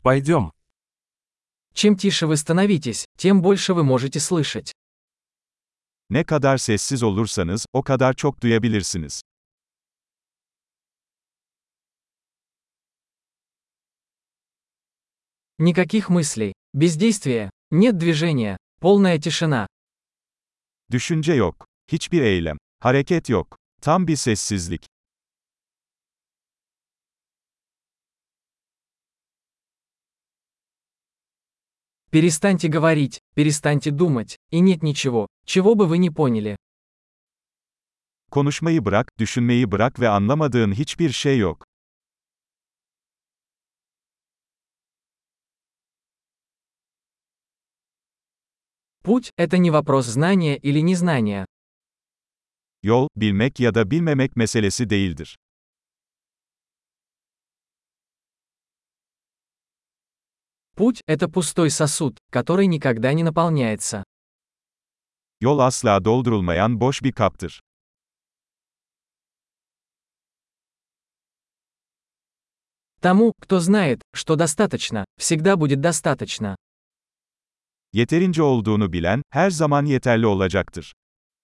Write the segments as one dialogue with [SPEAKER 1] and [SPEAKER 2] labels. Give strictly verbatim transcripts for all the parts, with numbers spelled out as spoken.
[SPEAKER 1] Пойдем.
[SPEAKER 2] Чем тише вы становитесь, тем больше вы можете слышать.
[SPEAKER 3] Ne kadar sessiz olursanız, o kadar çok duyabilirsiniz.
[SPEAKER 2] Никаких мыслей, бездействия, нет движения, полная тишина.
[SPEAKER 3] Düşünce yok. Hiçbir eylem. Hareket yok. Tam bir sessizlik.
[SPEAKER 2] Перестаньте говорить, перестаньте думать, и нет ничего, чего бы вы не поняли.
[SPEAKER 3] Konuşmayı bırak, düşünmeyi bırak ve anlamadığın hiçbir şey yok.
[SPEAKER 2] Путь – это не вопрос знания или незнания.
[SPEAKER 3] Yol, bilmek ya da bilmemek meselesi değildir.
[SPEAKER 2] Путь – это пустой сосуд, который никогда не наполняется.
[SPEAKER 3] Yol asla doldurulmayan boş bir kaptır.
[SPEAKER 2] Тому, кто знает, что достаточно, всегда будет достаточно.
[SPEAKER 3] Yeterince olduğunu bilen, her zaman yeterli olacaktır.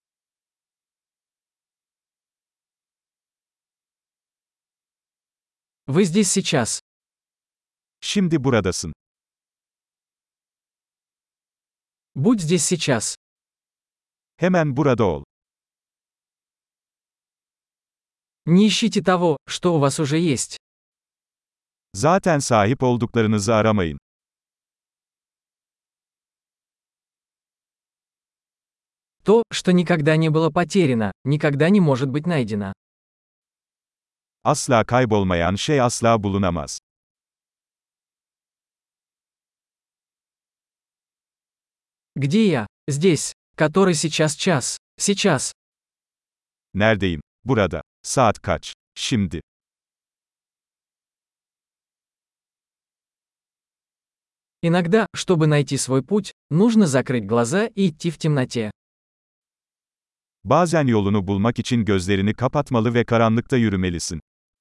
[SPEAKER 2] Вы здесь сейчас.
[SPEAKER 3] Şimdi buradasın.
[SPEAKER 2] Будь здесь сейчас.
[SPEAKER 3] Hemen burada ol.
[SPEAKER 2] Не ищите того, что у вас уже есть.
[SPEAKER 3] Zaten sahip olduklarınızı aramayın.
[SPEAKER 2] То, что никогда не было потеряно, никогда не может быть найдено.
[SPEAKER 3] Asla kaybolmayan şey asla bulunamaz.
[SPEAKER 2] Где я? Здесь. Который сейчас час. Сейчас.
[SPEAKER 3] Neredeyim? Burada. Saat kaç? Şimdi.
[SPEAKER 2] Иногда, чтобы найти свой путь, нужно закрыть глаза и идти в темноте.
[SPEAKER 3] Bazen yolunu bulmak için gözlerini kapatmalı ve karanlıkta yürümelisin.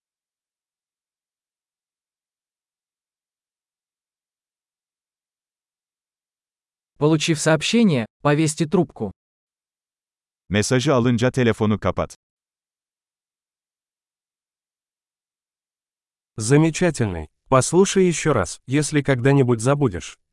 [SPEAKER 2] Получив сообщение, повесьте трубку.
[SPEAKER 3] Mesajı alınca telefonu kapat.
[SPEAKER 1] Замечательный. Послушай еще раз, если когда-нибудь забудешь.